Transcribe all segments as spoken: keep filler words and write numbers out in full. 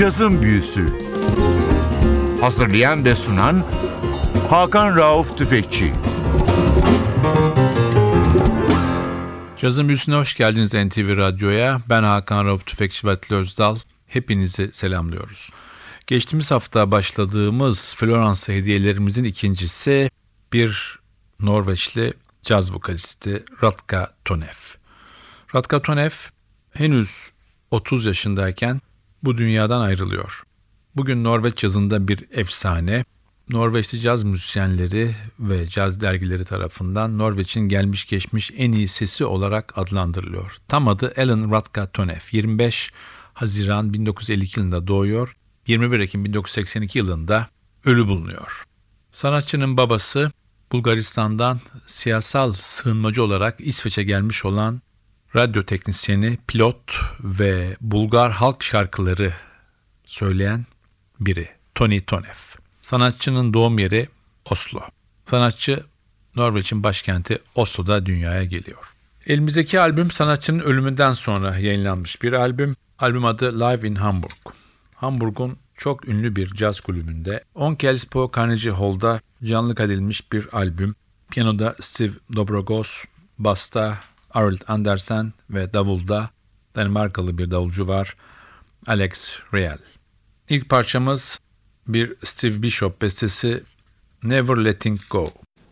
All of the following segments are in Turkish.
Cazın Büyüsü. Hazırlayan ve sunan Hakan Rauf Tüfekçi. Cazın Büyüsü'ne hoş geldiniz N T V Radyo'ya. Ben Hakan Rauf Tüfekçi ve Atli Özdal. Hepinizi selamlıyoruz. Geçtiğimiz hafta başladığımız Florence hediyelerimizin ikincisi bir Norveçli caz vokalisti Radka Tonev. Radka Tonev henüz otuz yaşındayken bu dünyadan ayrılıyor. Bugün Norveç cazında bir efsane. Norveçli caz müzisyenleri ve caz dergileri tarafından Norveç'in gelmiş geçmiş en iyi sesi olarak adlandırılıyor. Tam adı Ellen Radka Tonev. yirmi beş Haziran bin dokuz yüz elli iki yılında doğuyor. yirmi bir Ekim bin dokuz yüz seksen iki yılında ölü bulunuyor. Sanatçının babası Bulgaristan'dan siyasal sığınmacı olarak İsveç'e gelmiş olan radyo teknisyeni, pilot ve Bulgar halk şarkıları söyleyen biri, Tony Tonev. Sanatçının doğum yeri Oslo. Sanatçı Norveç'in başkenti Oslo'da dünyaya geliyor. Elimizdeki albüm sanatçının ölümünden sonra yayınlanmış bir albüm. Albüm adı Live in Hamburg. Hamburg'un çok ünlü bir caz kulübünde Onkelspå Carnegie Hall'da canlı kaydedilmiş bir albüm. Piyanoda Steve Dobrogos, basta Arild Andersen ve davulda Danimarkalı bir davulcu var, Alex Riel. İlk parçamız bir Steve Bishop bestesi, Never Letting Go.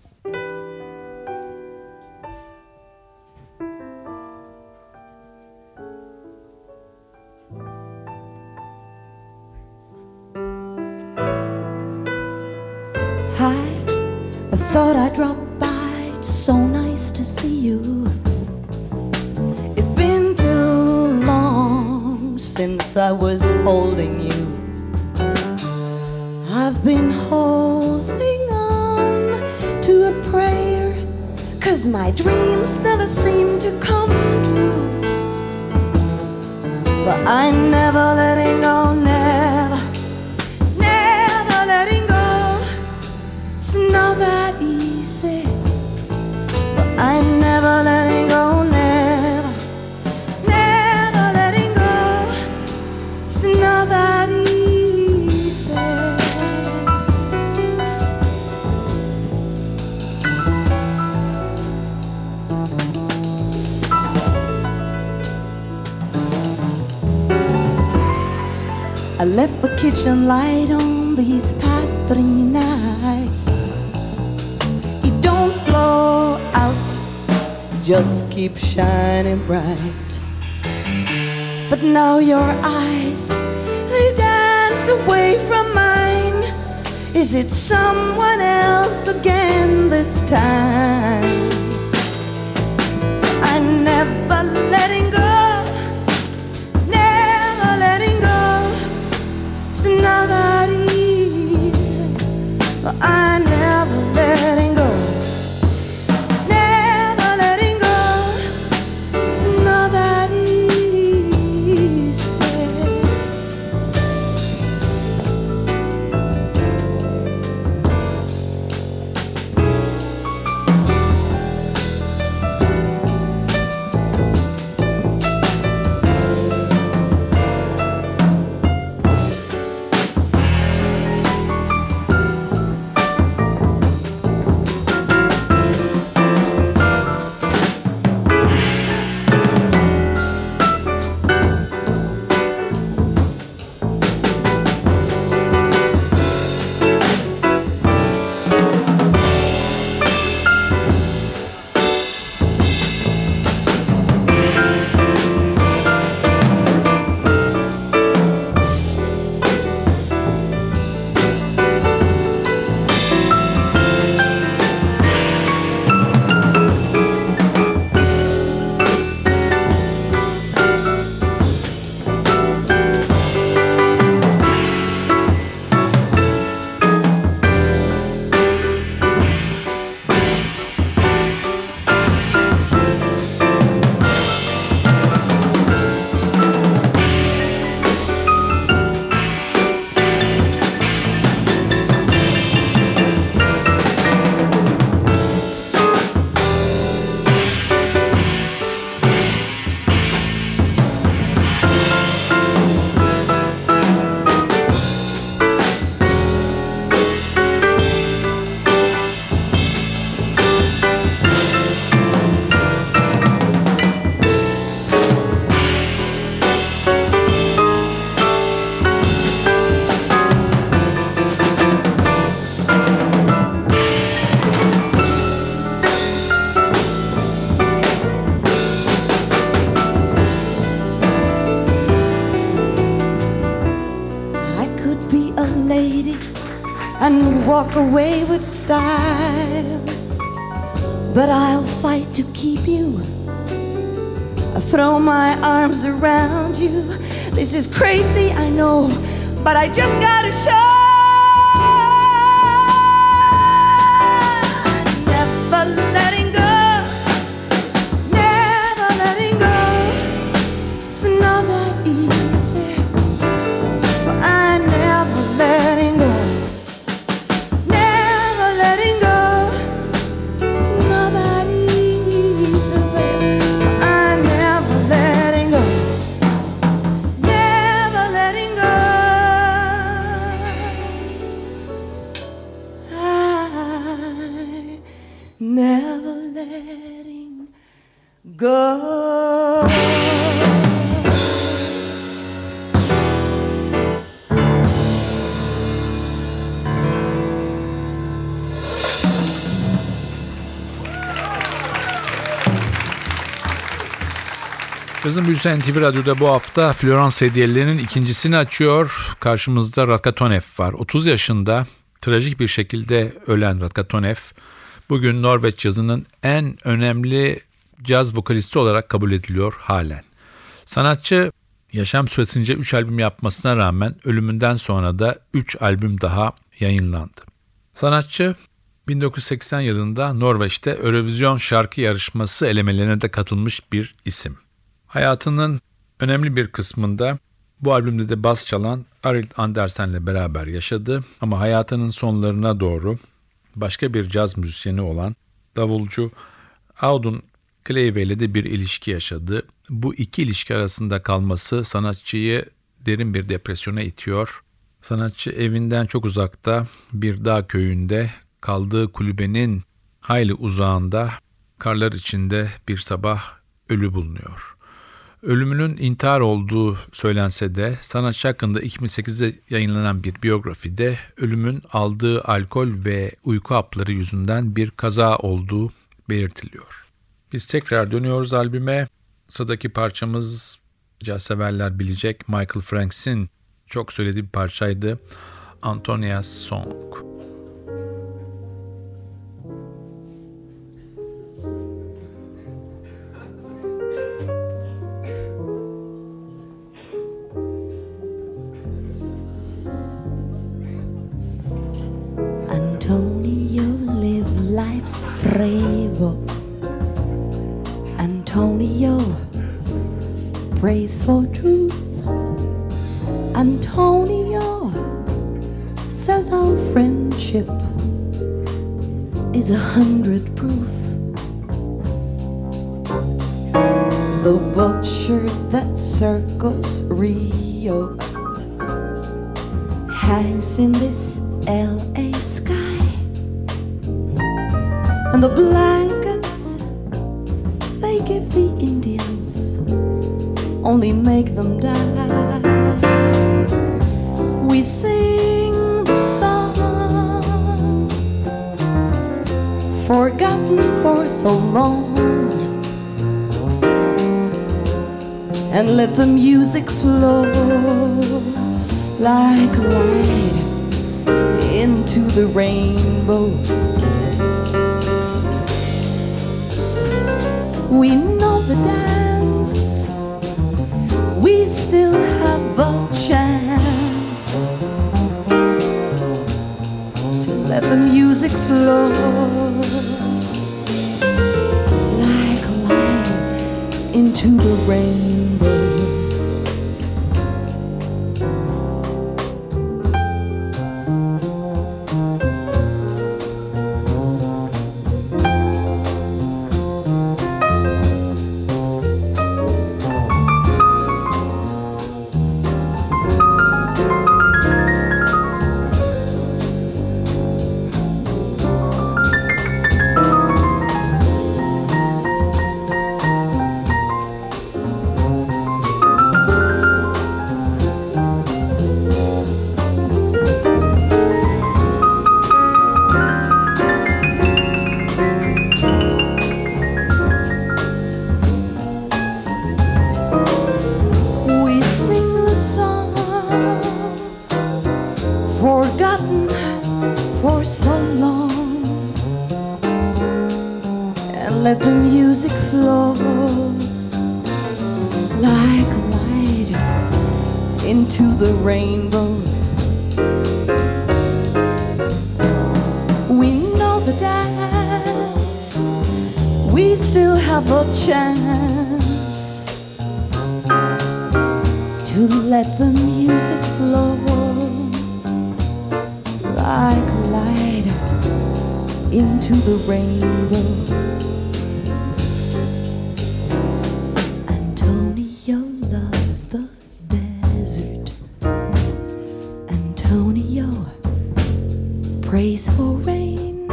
Hi, I thought I'd drop by. It's so nice to see you. It's been too long since I was holding you. I've been holding on to a prayer, 'cause my dreams never seem to come true. But I never letting go, never, never letting go. It's not that easy. But I never letting go, never, never letting go. It's not that easy. I left the kitchen light on these past three nights. It don't blow out, just keep shining bright. But now your eyes, they dance away from mine. Is it someone else again this time? I never letting go. Not that easy, but I never letting go, never letting go. It's not that easy. away with style, but I'll fight to keep you. I throw my arms around you. This is crazy, I know, but I just gotta show. Never letting go, never letting go. It's not that easy, but I never letting go. Never letting go. It's not that easy, babe, but I never letting go. Never letting go. I never letting go. Cazın Büyüsü N T V Radyo'da bu hafta Florence hediyelerinin ikincisini açıyor. Karşımızda Ratkatonef var. otuz yaşında trajik bir şekilde ölen Ratkatonef bugün Norveç cazının en önemli caz vokalisti olarak kabul ediliyor halen. Sanatçı yaşam süresince üç albüm yapmasına rağmen ölümünden sonra da üç albüm daha yayınlandı. Sanatçı bin dokuz yüz seksen yılında Norveç'te Eurovision şarkı yarışması elemelerine de katılmış bir isim. Hayatının önemli bir kısmında bu albümde de bas çalan Arild Andersen'le beraber yaşadı ama hayatının sonlarına doğru başka bir caz müzisyeni olan davulcu Audun Kleive ile de bir ilişki yaşadı. Bu iki ilişki arasında kalması sanatçıyı derin bir depresyona itiyor. Sanatçı evinden çok uzakta bir dağ köyünde kaldığı kulübenin hayli uzağında karlar içinde bir sabah ölü bulunuyor. Ölümünün intihar olduğu söylense de sanatçı hakkında iki bin sekizde yayınlanan bir biyografide ölümün aldığı alkol ve uyku hapları yüzünden bir kaza olduğu belirtiliyor. Biz tekrar dönüyoruz albüme. Sıradaki parçamız caz severler bilecek Michael Franks'in çok söylediği bir parçaydı. Antonia's Song. Antonio, live life's frevo. Antonio, praise for truth. Antonio says our friendship is a hundred proof. The vulture that circles Rio hangs in this L A sky, and the blankets they give the Indians only make them die. We sing the song forgotten for so long, and let the music flow like light into the rainbow. We know the dance, we still have a chance to let the music flow like light into the rainbow. song and let the music flow like light into the rainbow. We know the dance, we still have a chance to let the music flow like light into the rainbow. Antonio loves the desert. Antonio prays for rain.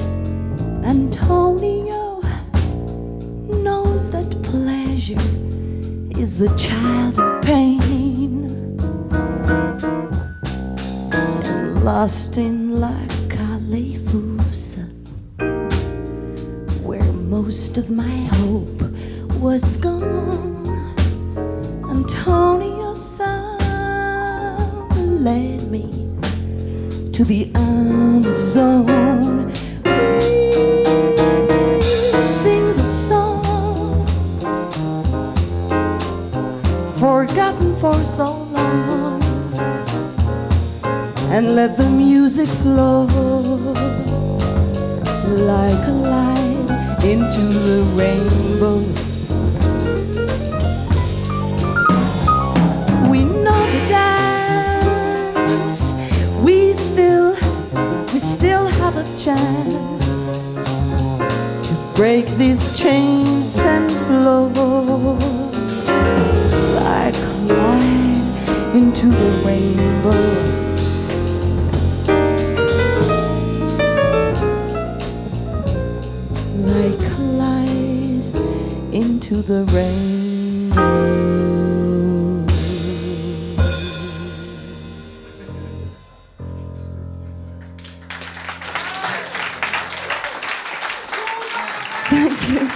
Antonio knows that pleasure is the child of pain. And lost in La Califusa, where most of my hope was gone, Antonio's song led me to the Amazon. We sing the song forgotten for so long, and let the music flow like a light into the rainbow. We know the dance, we still, we still have a chance to break these chains and flow like light into the rainbow. Like light into the rainbow. Thank you.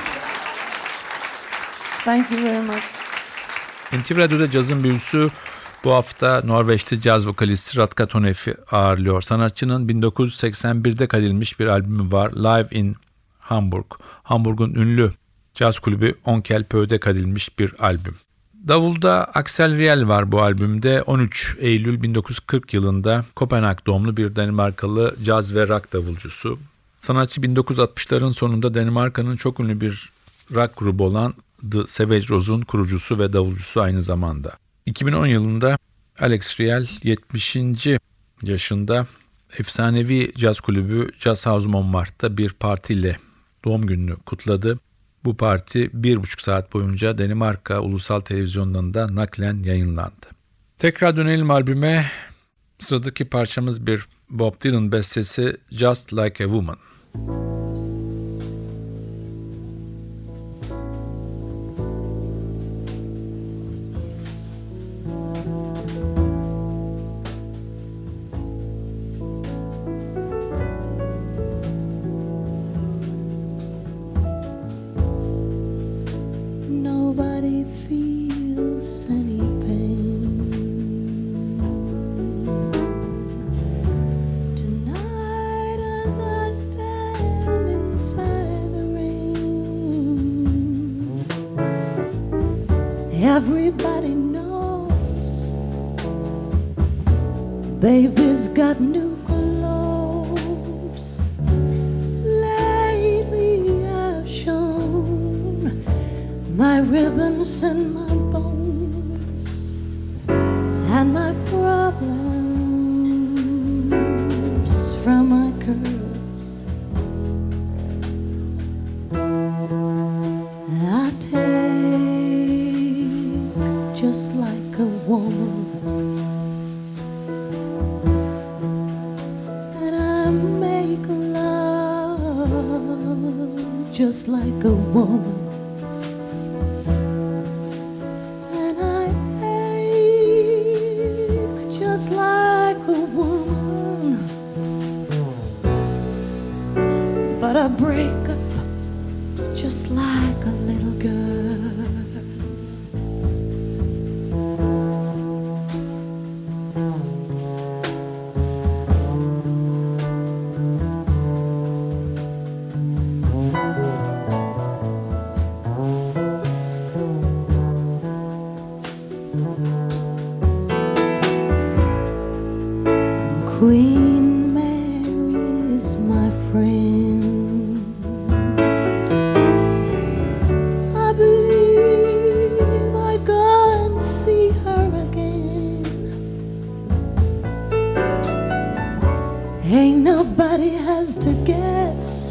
Thank you very much. N T V Radyo'da cazın büyüsü bu hafta Norveçli caz vokalisti Radka Tonef'i ağırlıyor. Sanatçının bin dokuz yüz seksen birde kaydedilmiş bir albümü var, Live in Hamburg. Hamburg'un ünlü caz kulübü Onkel Pö'de kaydedilmiş bir albüm. Davulda Axel Riel var bu albümde. on üç Eylül bin dokuz yüz kırk yılında Kopenhag doğumlu bir Danimarkalı caz ve rock davulcusu. Sanatçı bin dokuz yüz altmışların sonunda Danimarka'nın çok ünlü bir rock grubu olan The Savage Rose'un kurucusu ve davulcusu aynı zamanda. iki bin on yılında Alex Riel yetmişinci yaşında efsanevi caz kulübü Jazz House Montmartre'da bir partiyle doğum gününü kutladı. Bu parti bir buçuk saat boyunca Danimarka Ulusal Televizyonu'nda naklen yayınlandı. Tekrar dönelim albüme. Sıradaki parçamız bir Bob Dylan bestesi Just Like a Woman. Nobody feels any pain tonight as I stand inside the rain. Everybody knows baby's got new clothes. Lately I've shown my ribbons and my bones and my problems from my curls. I take just like a woman, and I make love just like a woman. Just like a woman, but I break up just like a little girl. friend. I believe I go and see her again. Ain't nobody has to guess,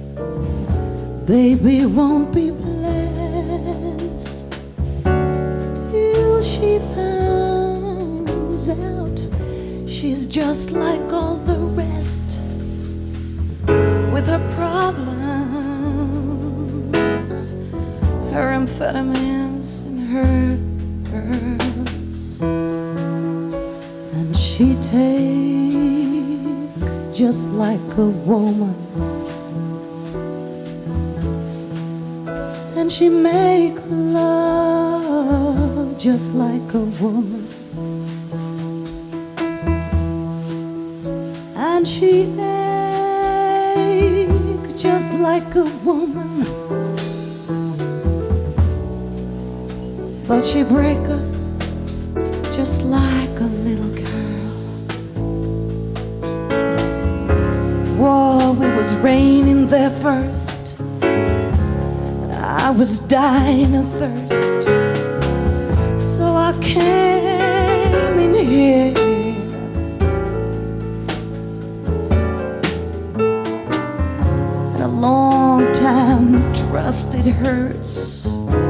baby won't be blessed till she finds out she's just like all the rest, with her problems, her amphetamines and her girls. And she take just like a woman, and she make love just like a woman, and she ache just like a woman, but she break up just like a little girl. Whoa, it was raining there first, I was dying of thirst, so I came in here. And a long time trusted hers.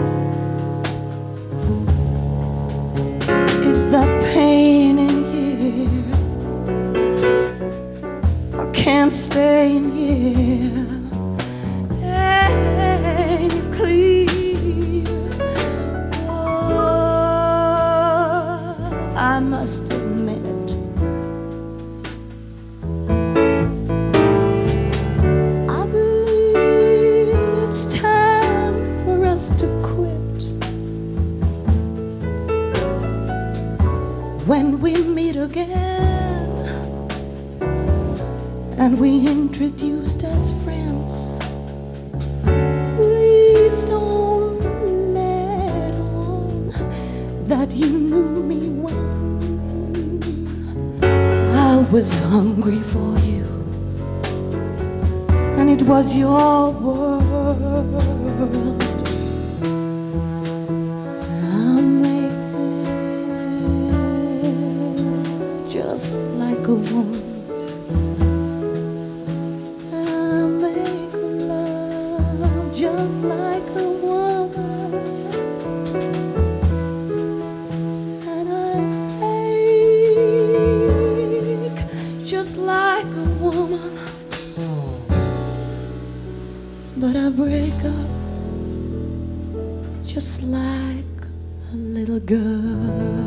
It's that pain in here, I can't stay in here. Ain't it clear? Oh, I must admit, I believe it's time for us to quit. When we meet again and we introduced as friends, please don't let on that you knew me when I was hungry for you, and it was your world. I make it just like a woman, just like a woman, and I ache just like a woman, but I break up just like a little girl.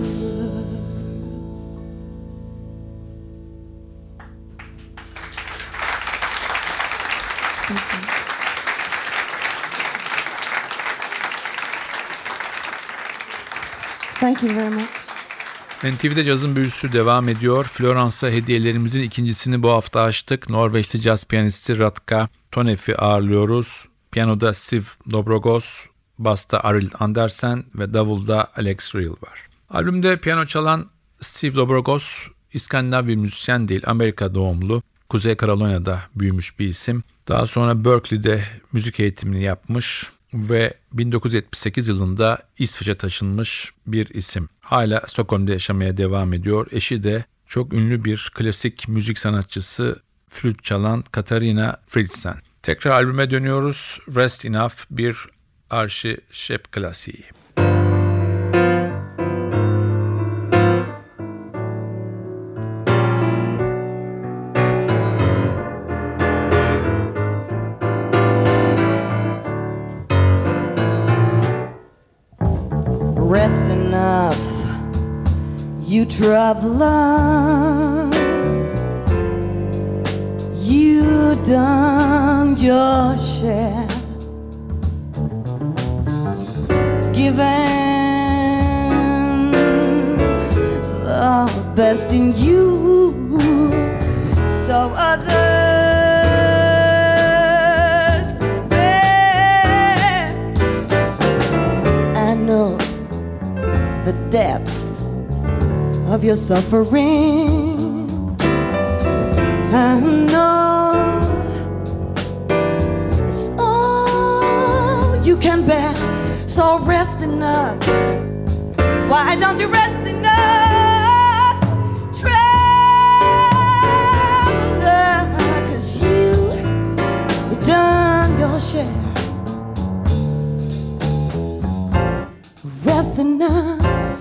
Thank you very much. N T V'de cazın büyüsü devam ediyor. Floransa hediyelerimizin ikincisini bu hafta açtık. Norveçli caz piyanisti Radka Tonef'i ağırlıyoruz. Piyanoda Siv Dobrogos, basta Arild Andersen ve davulda Alex Reel var. Albümde piyano çalan Siv Dobrogos, İskandinav bir müzisyen değil, Amerika doğumlu. Kuzey Carolina'da büyümüş bir isim. Daha sonra Berkeley'de müzik eğitimini yapmış ve bin dokuz yüz yetmiş sekiz yılında İsveç'e taşınmış bir isim. Hala Stockholm'da yaşamaya devam ediyor. Eşi de çok ünlü bir klasik müzik sanatçısı, flüt çalan Katarina Fridsen. Tekrar albüme dönüyoruz. Rest Enough bir arşi şep klasiği. Rest enough, you traveler. You done your share, given the best in you, so others could bear. I know the depth of your suffering. I know So rest enough. Why don't you rest enough, traveler? 'Cause you, you've done your share. Rest enough,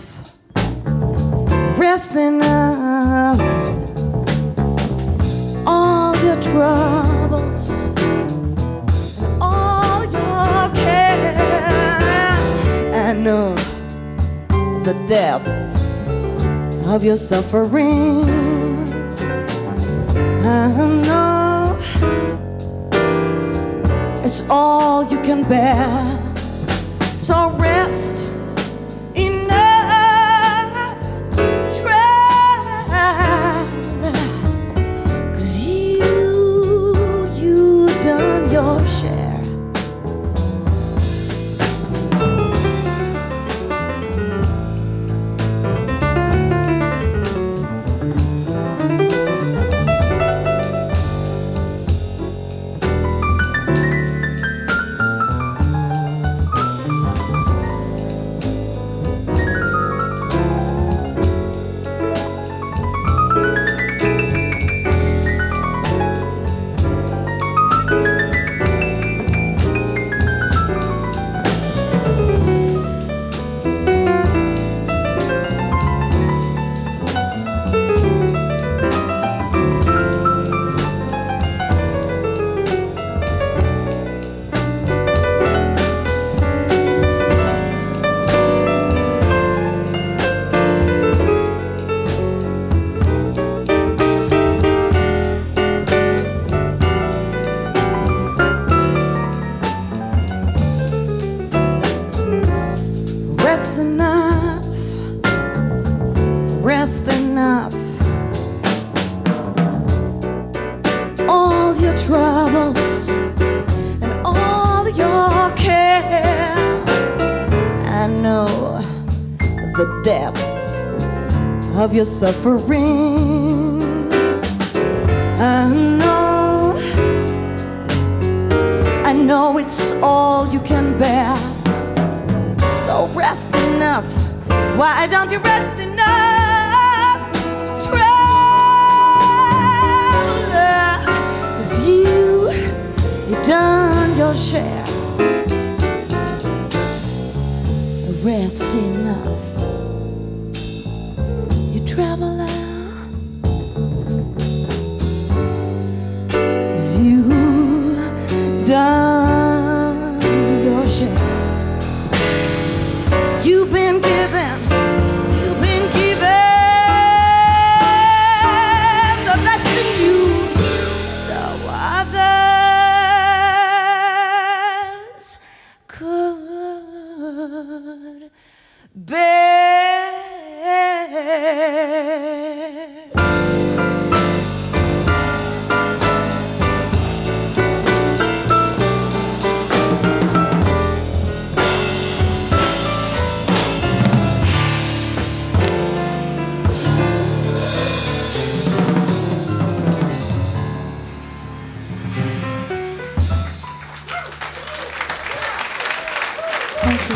rest enough. All your troubles, all your care, I know the depth of your suffering. I know it's all you can bear. So rest enough, traveler, 'cause you, you've done your share. Rest enough, rest enough. All your troubles and all your care, I know the depth of your suffering. I know, I know it's all you can bear. So rest enough. Why don't you rest enough, traveler? 'Cause you, you've done your share. Rest enough, you traveler. 'Cause you done your share. You've been given, you've been given the best in you, so others could bear. Thank you.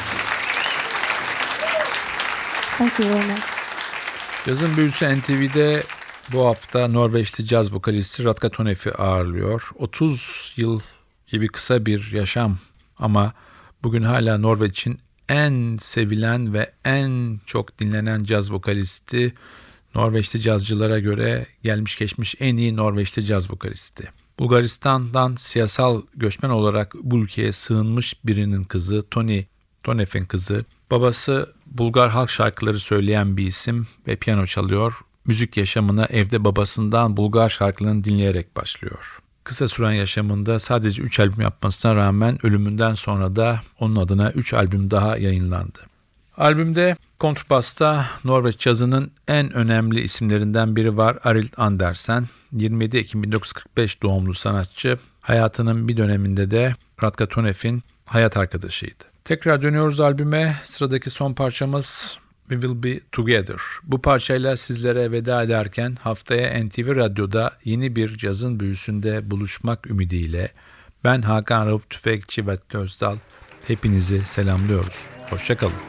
Thank you very much. Cazın Büyüsü N T V'de bu hafta Norveçli caz vokalisti Radka Tonef'i ağırlıyor. otuz yıl gibi kısa bir yaşam ama bugün hala Norveç'in en sevilen ve en çok dinlenen caz vokalisti. Norveçli cazcılara göre gelmiş geçmiş en iyi Norveçli caz vokalisti. Bulgaristan'dan siyasal göçmen olarak bu ülkeye sığınmış birinin kızı, Tony Tonef'in kızı. Babası Bulgar halk şarkıları söyleyen bir isim ve piyano çalıyor. Müzik yaşamına evde babasından Bulgar şarkılarını dinleyerek başlıyor. Kısa süren yaşamında sadece üç albüm yapmasına rağmen ölümünden sonra da onun adına üç albüm daha yayınlandı. Albümde kontrbasta Norveç cazının en önemli isimlerinden biri var, Arild Andersen. yirmi yedi Ekim bin dokuz yüz kırk beş doğumlu sanatçı, hayatının bir döneminde de Radka Tonef'in hayat arkadaşıydı. Tekrar dönüyoruz albüme. Sıradaki son parçamız We Will Be Together. Bu parçayla sizlere veda ederken haftaya N T V Radyo'da yeni bir cazın büyüsünde buluşmak ümidiyle ben Hakan Rauf Tüfekçi ve Özdal. hepinizi selamlıyoruz. Hoşça kalın.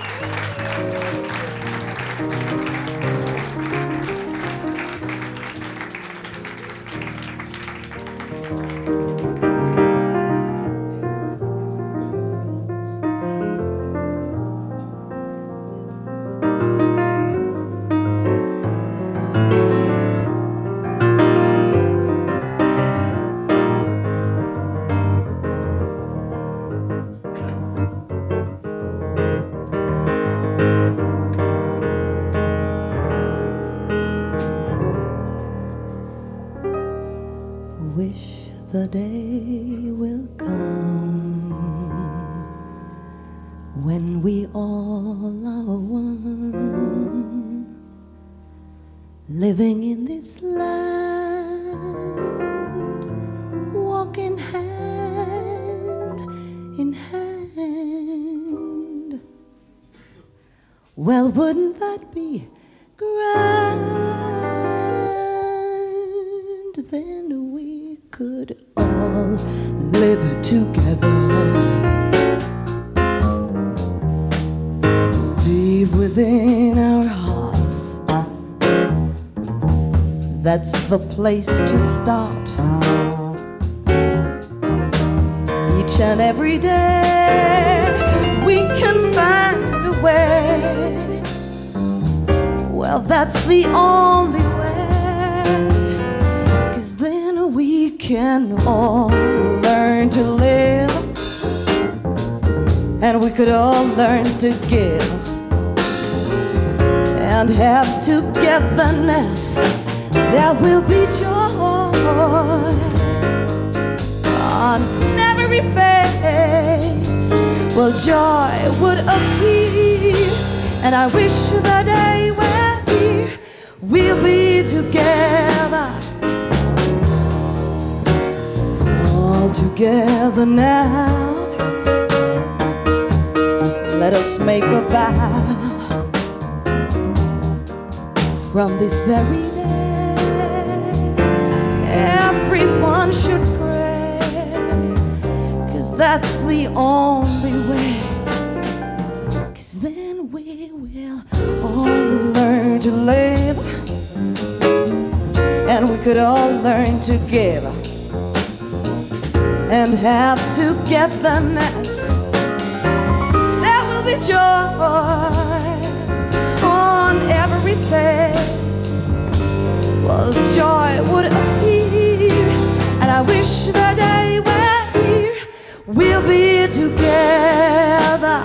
Wish the day will come when we all are one, living in this land, walking hand in hand. Well, wouldn't that be grand? Then we could all live together, deep within our hearts. That's the place to start. Each and every day we can find a way. Well, that's the only way. We can all learn to live, and we could all learn to give, and have togetherness. There will be joy on every face. Well, joy would appear, and I wish the day we're here, we'll be together. Together now, let us make a vow. From this very day, everyone should pray, 'cause that's the only way. 'Cause then we will all learn to live, and we could all learn to give, and have togetherness. There will be joy on every face. Well, joy would appear, and I wish the day we're here, we'll be together.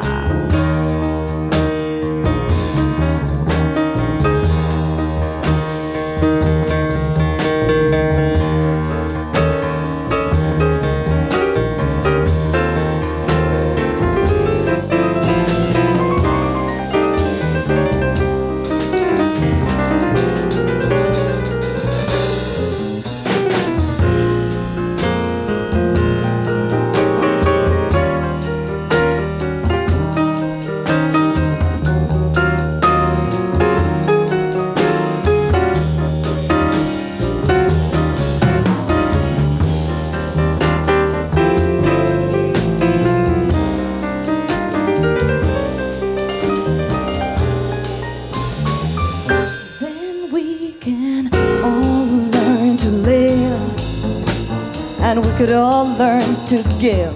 And we could all learn to give,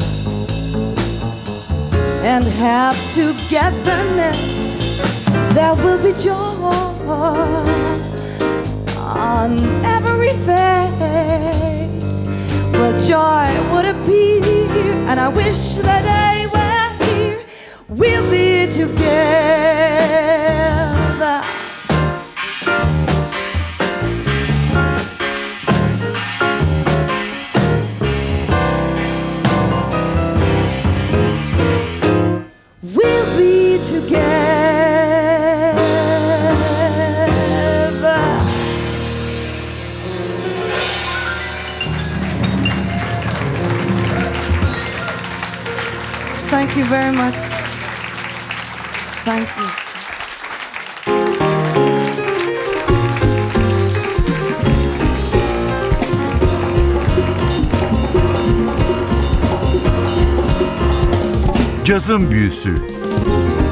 and have togetherness. There will be joy on every face. Well, joy would appear, and I wish the day we're here, we'll be together. Thank you very much. Thank you. Cazın Büyüsü.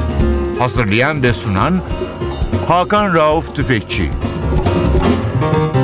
Hazırlayan ve sunan Hakan Rauf Tüfekçi.